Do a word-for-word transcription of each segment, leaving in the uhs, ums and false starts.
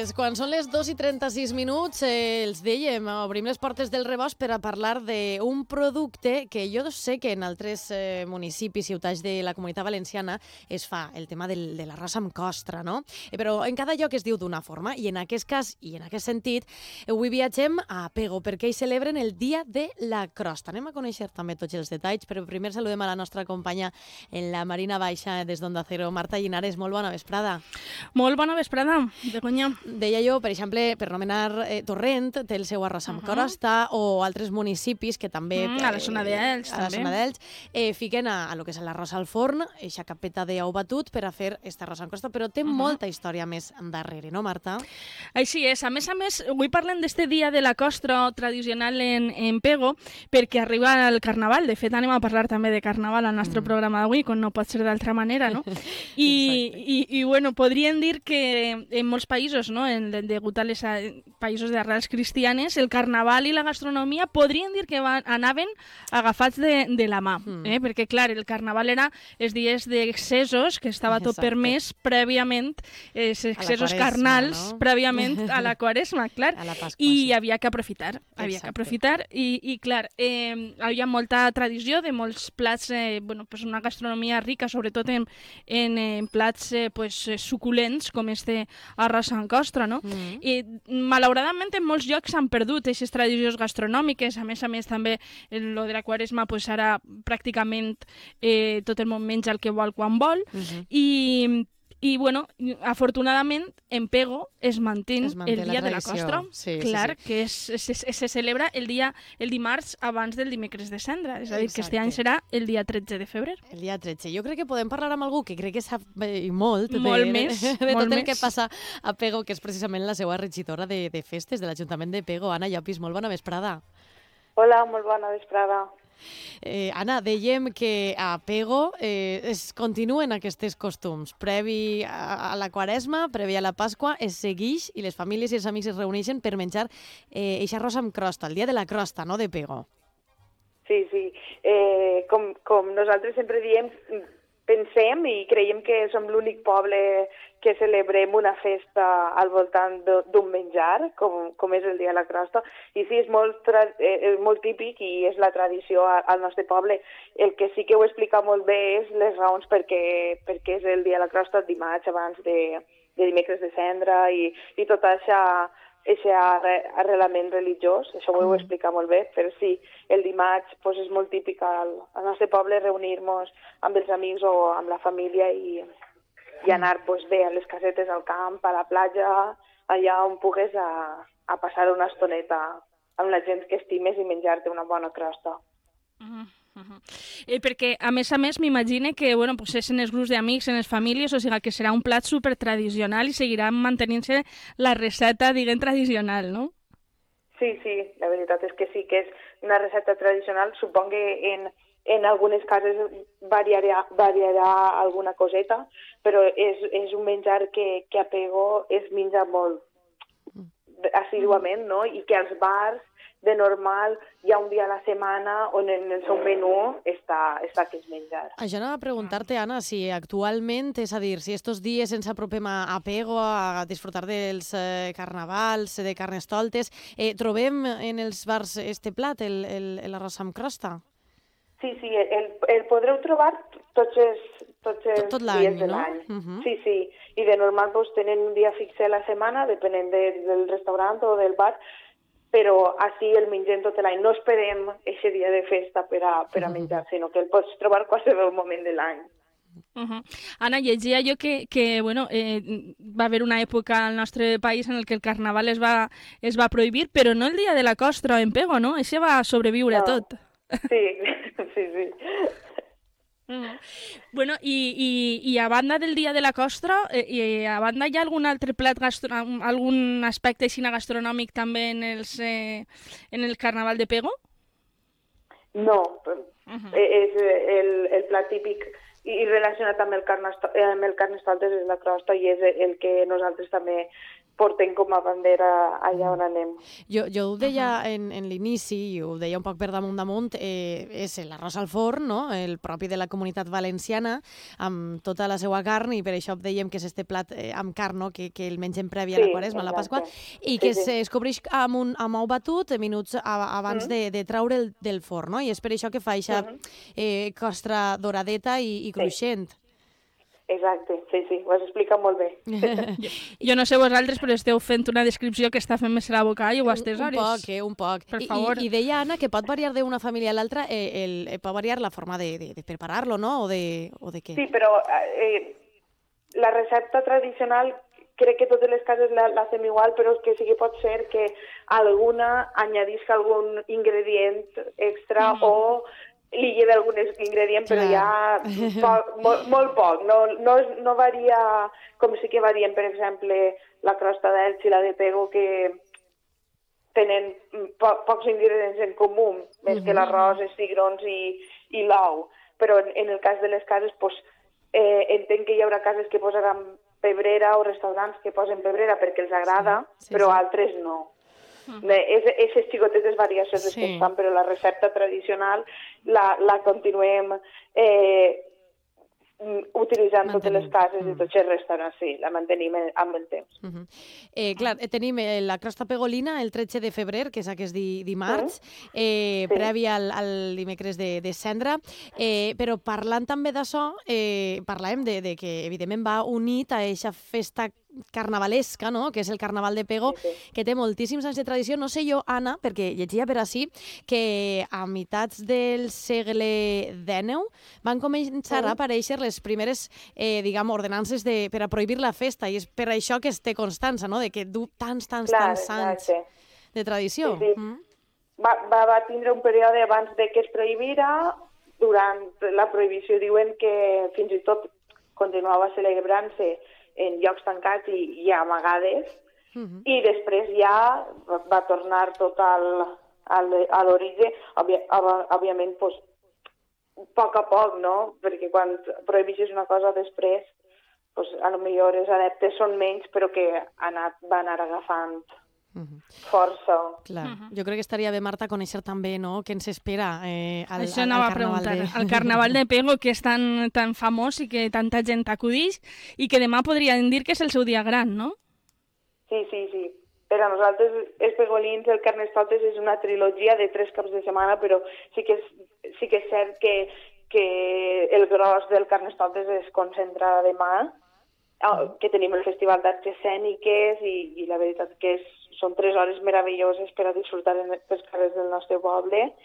Pues quan són les dos i trenta-sis minuts, eh, els dèiem, obrim les portes del rebost per a parlar d'un producte que jo sé que en altres eh, municipis, ciutats de la Comunitat Valenciana es fa, el tema del, de l'arròs amb costra, no? Eh, però en cada lloc es diu d'una forma, i en aquest cas, i en aquest sentit, avui viatgem a Pego, perquè hi celebren el Dia de la Crosta. Anem a conèixer també tots els detalls, però primer saludem a la nostra companya en la Marina Baixa des d'Onda Cero, Marta Llinares. Molt bona vesprada. Molt bona vesprada, Begoña. Deia jo, per exemple, per nomenar eh, Torrent, té el seu arròs amb uh -huh. crosta, o altres municipis que també... Mm, a la zona d'Elx, eh, a la també. zona d'Elx, eh, fiquen a, a lo que és l'arròs al forn, eixa capeta d'ou batut per a fer aquest arròs amb crosta, però té uh -huh. molta història més darrere, no, Marta? Així és. A més a més, avui parlem d'este dia de la costra tradicional en, en Pego, perquè arriba el Carnaval. De fet, anem a parlar també de Carnaval al nostre mm. programa d'avui, com no pot ser d'altra manera, no? I, i, i, bueno, podríem dir que en molts països, no, en, degut a les a, països d'arrels cristianes, el Carnaval i la gastronomia podríem dir que van, anaven agafats de, de la mà, mm. eh? Perquè, clar, el Carnaval era els dies d'excessos, que estava tot Exacte. permès prèviament, els excessos quaresma, carnals, no? prèviament a la Quaresma, clar, a la Pasqua, i sí. havia que aprofitar, havia Exacte. que aprofitar, i, i clar, eh, hi ha molta tradició de molts plats, eh, bueno, pues una gastronomia rica, sobretot en, en, en plats eh, pues, suculents, com este arròs amb costra, no? Mm. I malauradament en molts llocs s'han perdut aquestes tradicions gastronòmiques, a més a més també en lo de la Quaresma, pues ara pràcticament eh, tot el món menja el que vol quan vol, mm -hmm. i I, bueno, afortunadament, en Pego es manté, es manté el dia de la costra, sí, clar, sí, sí. que es, se, se celebra el dia el dimarts abans del dimecres de Cendra, és a dir, Exacte. que este any serà el dia tretze de febrer. El dia tretze. Jo crec que podem parlar amb algú que crec que sap eh, molt, molt de, més, de, de molt tot el més. que passa a Pego, que és precisament la seva regidora de, de festes de l'Ajuntament de Pego. Anna Llopis, molt bona vesprada. Hola, molt bona vesprada. Eh, Anna, dèiem que a Pego eh, es continuen aquests costums. Previ a, a la Quaresma, previ a la Pasqua, es segueix i les famílies i els amics es reuneixen per menjar eh, eixa arròs amb crosta, el dia de la crosta, no?, de Pego. Sí, sí. Eh, com, com nosaltres sempre diem, pensem i creiem que som l'únic poble que celebrem una festa al voltant d'un menjar, com, com és el Dia de la Crosta. I sí, és molt, eh, molt típic i és la tradició al nostre poble. El que sí que ho explica molt bé és les raons perquè, perquè és el Dia de la Crosta dimarts abans de, de dimecres de Cendra i, i tot això, aquest arrelament religiós, això ho heu explicat molt bé, però sí, el dimarts pues, és molt típic al, al nostre poble reunir-nos amb els amics o amb la família i, i anar pues, bé a les casetes al camp, a la platja, allà on pugues a, a passar una estoneta amb la gent que estimes i menjar-te una bona crosta. Uh-huh. Uh-huh. Eh, perquè, a més a més, m'imagine que bueno, pues és en els grups d'amics, en les famílies, o sigui que serà un plat super tradicional i seguirà mantenint-se la recepta, diguem, tradicional, no? Sí, sí, la veritat és que sí, que és una recepta tradicional. Suponc que en, en algunes cases variarà, variarà alguna coseta, però és, és un menjar que, que a Pego es menja molt assiduament, no? I que als bars de normal hi ha un dia a la setmana on en el seu menú està, està aquest menjar. Això anava a preguntar-te, Anna, si actualment, és a dir, si estos dies ens apropem a Pego a disfrutar dels eh, carnavals, de carnestoltes, eh, trobem en els bars este plat, l'arròs amb crosta? Sí, sí, el, el podreu trobar tots els, tots els tot, tot dies de no? l'any. Uh-huh. Sí, sí, i de normal pues, tenen un dia fixe a la setmana, depenent de, del restaurant o del bar, però així el mengem tot l'any. No esperem aquest dia de festa per a, per a menjar, uh-huh. sinó que el pots trobar qualsevol moment de l'any. Uh-huh. Anna, llegia jo que, que bueno, eh, va haver una època al nostre país en el que el carnaval es va, es va prohibir, però no el dia de la costra en Pego, no? Això va sobreviure no. a tot. Sí, sí, sí. Uh-huh. Bueno, i, i, i a banda del dia de la costra, eh, i a banda hi ha algun altre plat, gastro... algun aspecte així gastronòmic també en, els, eh, en el carnaval de Pego? No, uh-huh. és el, el plat típic i relacionat amb el, carnestol, amb el carnestoltes és la crosta i és el que nosaltres també portem com a bandera allà on anem. Jo, jo ho deia en, en l'inici, i ho deia un poc per damunt damunt, eh, és l'arròs al forn, no? El propi de la Comunitat Valenciana, amb tota la seva carn, i per això dèiem que és este plat eh, amb carn, no? que, que el mengem previ a la Sí, Quaresma, a la exacte. Pasqua, i que Sí, sí. es cobreix amb un amb ou batut minuts a, abans Mm. de, de treure'l del forn, no? I és per això que fa eixa Mhm. eh, costra doradeta i, i cruixent. Exacte, sí, sí, ho has explicat molt bé. Jo no sé vosaltres, però esteu fent una descripció que està fent més la boca i ho estàs Un poc, eh, un poc. Per I, favor. I, I deia, Anna, que pot variar d'una família a l'altra, eh, el, eh, pot variar la forma de, de, de preparar-lo, no? O de, o de què? Sí, però eh, la recepta tradicional crec que totes les cases la, la fem igual, però que sí que pot ser que alguna añadisca algun ingredient extra Mhm. o li lleve algun ingredient, però Clar. ja poc, molt, molt poc. No, no, és- no varia com sí que varien, per exemple, la crosta d'Elx i la de Pego, que tenen po pocs ingredients en comú, més que l'arròs, els cigrons i, i l'ou. Però en, en el cas de les cases, pues, eh, entenc que hi haurà cases que posaran pebrera o restaurants que posen pebrera perquè els agrada, Sí, sí, però sí. altres no. Aquestes xicotetes variacions les que Sí. es fan, però la recepta tradicional la, la continuem eh, utilitzant totes les Mantenim. cases Mm. i tots els restaurants, sí, la mantenim amb el temps. Uh -huh. eh, clar, eh, tenim eh, la crosta pegolina el tretze de febrer, que és aquest di, dimarts, eh, Sí. previ al, al dimecres de, de cendra, eh, però parlant també d'això, eh, parlàvem de, de que evidentment va unit a eixa festa carnavalesca, no? Que és el Carnaval de Pego, Sí, sí. que té moltíssims anys de tradició. No sé jo, Anna, perquè llegia per ací, que a meitats del segle dènou van començar a aparèixer les primeres, eh, diguem, ordenances de, per a prohibir la festa, i és per això que es té constança, no?, de que du tants, tants, Clar, tants anys exacte. de tradició. Sí, sí. Mm? Va, va, va tindre un període abans de que es prohibira. Durant la prohibició diuen que fins i tot continuava celebrant-se en llocs tancats i, i amagades, Mm -hmm. i després ja va, va tornar tot al, al, a l'origen, òbvia, òbviament, pues, a poc a poc, no? Perquè quan prohibeixes una cosa després, pues, a lo millor els adeptes són menys, però que ha anat, van anar agafant Mm -hmm. força. Clar. Mhm. Jo crec que estaria bé, Marta, conèixer també, no?, què ens espera eh, al, Això al, anava al a Carnaval preguntar. de... El Carnaval de Pego, que és tan, tan famós i que tanta gent acudix, i que demà podrien dir que és el seu dia gran, no? Sí, sí, sí. Per a nosaltres, els pegolins, el Carnestoltes és una trilogia de tres caps de setmana, però sí que és, sí que és cert que, que el gros del Carnestoltes es concentra demà, que tenim el Festival d'Arts Escèniques i, i la veritat que és, són tres hores meravelloses per a disfrutar en els carrers del nostre poble.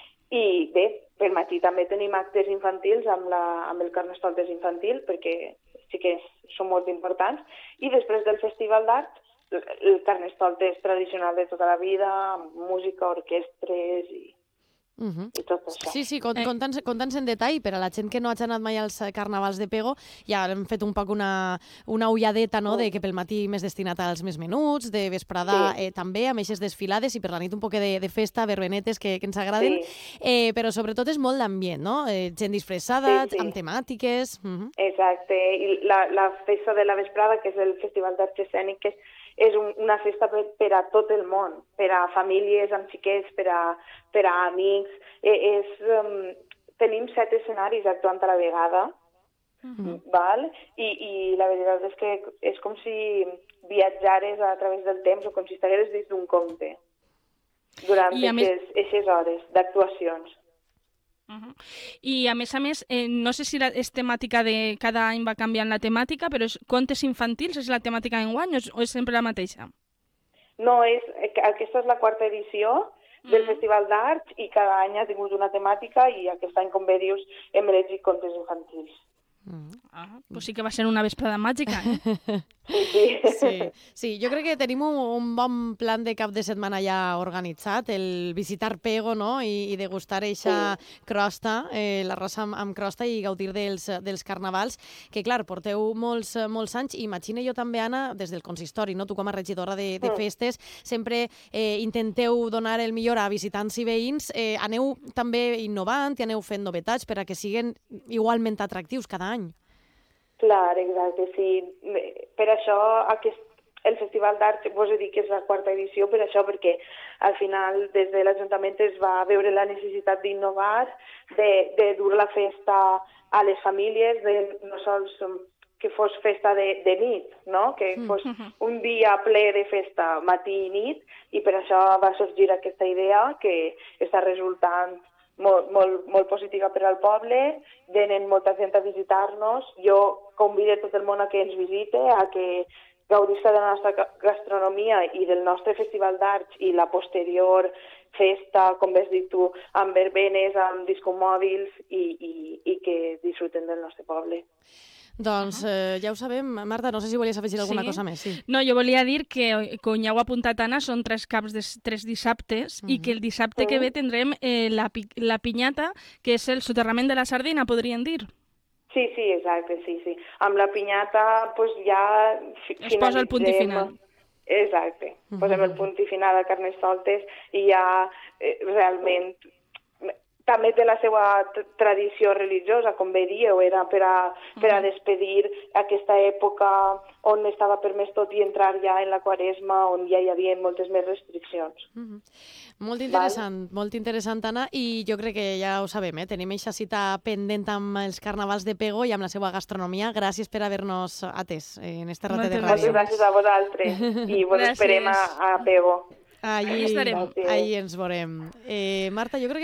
I bé, per matí també tenim actes infantils amb, la, amb el Carnestoltes infantil, perquè sí que són molt importants. I després del Festival d'Arts, el Carnestoltes tradicional de tota la vida, amb música, orquestres i, Uh -huh. i tot això. Sí, sí, conta'ns Eh. conta'ns conta'ns en detall, per a la gent que no hagi anat mai als carnavals de Pego, ja hem fet un poc una, una ulladeta, no?, de que pel matí més destinat als més menuts, de vesprada Sí. eh, també, amb eixes desfilades, i per la nit un poc de, de festa, verbenetes que, que ens agraden, Sí. eh, però sobretot és molt d'ambient, no?, eh, gent disfressada, Sí, sí. amb temàtiques... Uh -huh. Exacte, i la, la festa de la vesprada, que és el Festival d'Arts Escèniques, és un, una festa per, per a tot el món, per a famílies amb xiquets, per a, per a amics. Eh, és, um, tenim set escenaris actuant a la vegada, Mhm. val? I, i la veritat és que és com si viatjares a través del temps o com si estigueres dins d'un conte durant I a més- aquestes hores d'actuacions. Uh -huh. I a més a més, eh, no sé si la, és temàtica de... Cada any va canviant la temàtica, però és contes infantils, és la temàtica d'enguany o, és, o és sempre la mateixa? No, és, aquesta és la quarta edició del Mm. Festival d'Arts i cada any ha tingut una temàtica i aquest any, com bé dius, hem elegit contes infantils. Mm. Ah, pues sí que va ser una vesprada màgica, eh? Sí, sí. Sí, sí, jo crec que tenim un, un bon plan de cap de setmana ja organitzat, el visitar Pego, no?, i, i degustar eixa crosta, eh, l'arròs amb, amb crosta, i gaudir dels, dels carnavals, que clar, porteu molts, molts anys, i imagino jo també, Anna, des del consistori, no?, tu com a regidora de, de Mm. festes, sempre eh, intenteu donar el millor a visitants i veïns, eh, aneu també innovant i aneu fent novetats per a que siguin igualment atractius cada any. Clar, exacte, sí. Per això aquest, el Festival d'Art, vos he dit que és la quarta edició per això, perquè al final des de l'Ajuntament es va veure la necessitat d'innovar, de, de dur la festa a les famílies, de no sols que fos festa de, de nit, no? Que fos un dia ple de festa matí i nit, i per això va sorgir aquesta idea que està resultant molt, molt, molt positiva per al poble, venen molta gent a visitar-nos, jo convido tot el món a que ens visite, a que gaudisca de la nostra gastronomia i del nostre festival d'arts i la posterior festa, com has dit tu, amb verbenes, amb discomòbils i, i, i que disfruten del nostre poble. Doncs eh, ja ho sabem. Marta, no sé si volies afegir alguna sí? cosa més. Sí. No, jo volia dir que, com ja ho ha apuntat Anna, són tres caps de tres dissabtes uh -huh. i que el dissabte uh -huh. que ve tindrem eh, la, la pinyata, que és el soterrament de la sardina, podríem dir. Sí, sí, exacte, sí, sí. Amb la pinyata pues, ja finalitzem... Es posa el punt i final. Exacte. Posem el punt i final a Carnestoltes i ja eh, realment... També té la seva tradició religiosa, com bé dieu, era per a, per a despedir aquesta època on estava permès tot i entrar ja en la Quaresma, on ja hi havia moltes més restriccions. Mm-hmm. Molt interessant, Val? molt interessant, Anna, i jo crec que ja ho sabem, eh? Tenim aquesta cita pendent amb els carnavals de Pego i amb la seva gastronomia. Gràcies per haver-nos atès en este ratet de ràdio. Moltes gràcies a vosaltres i vos esperem a, a Pego. Allí, allí ens veurem. Eh, Marta, jo crec que